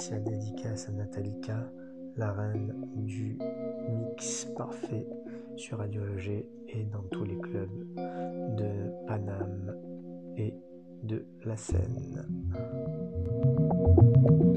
spéciale dédicace à Natalika, la reine du mix parfait sur Radio EG et dans tous les clubs de Paname et de la Seine.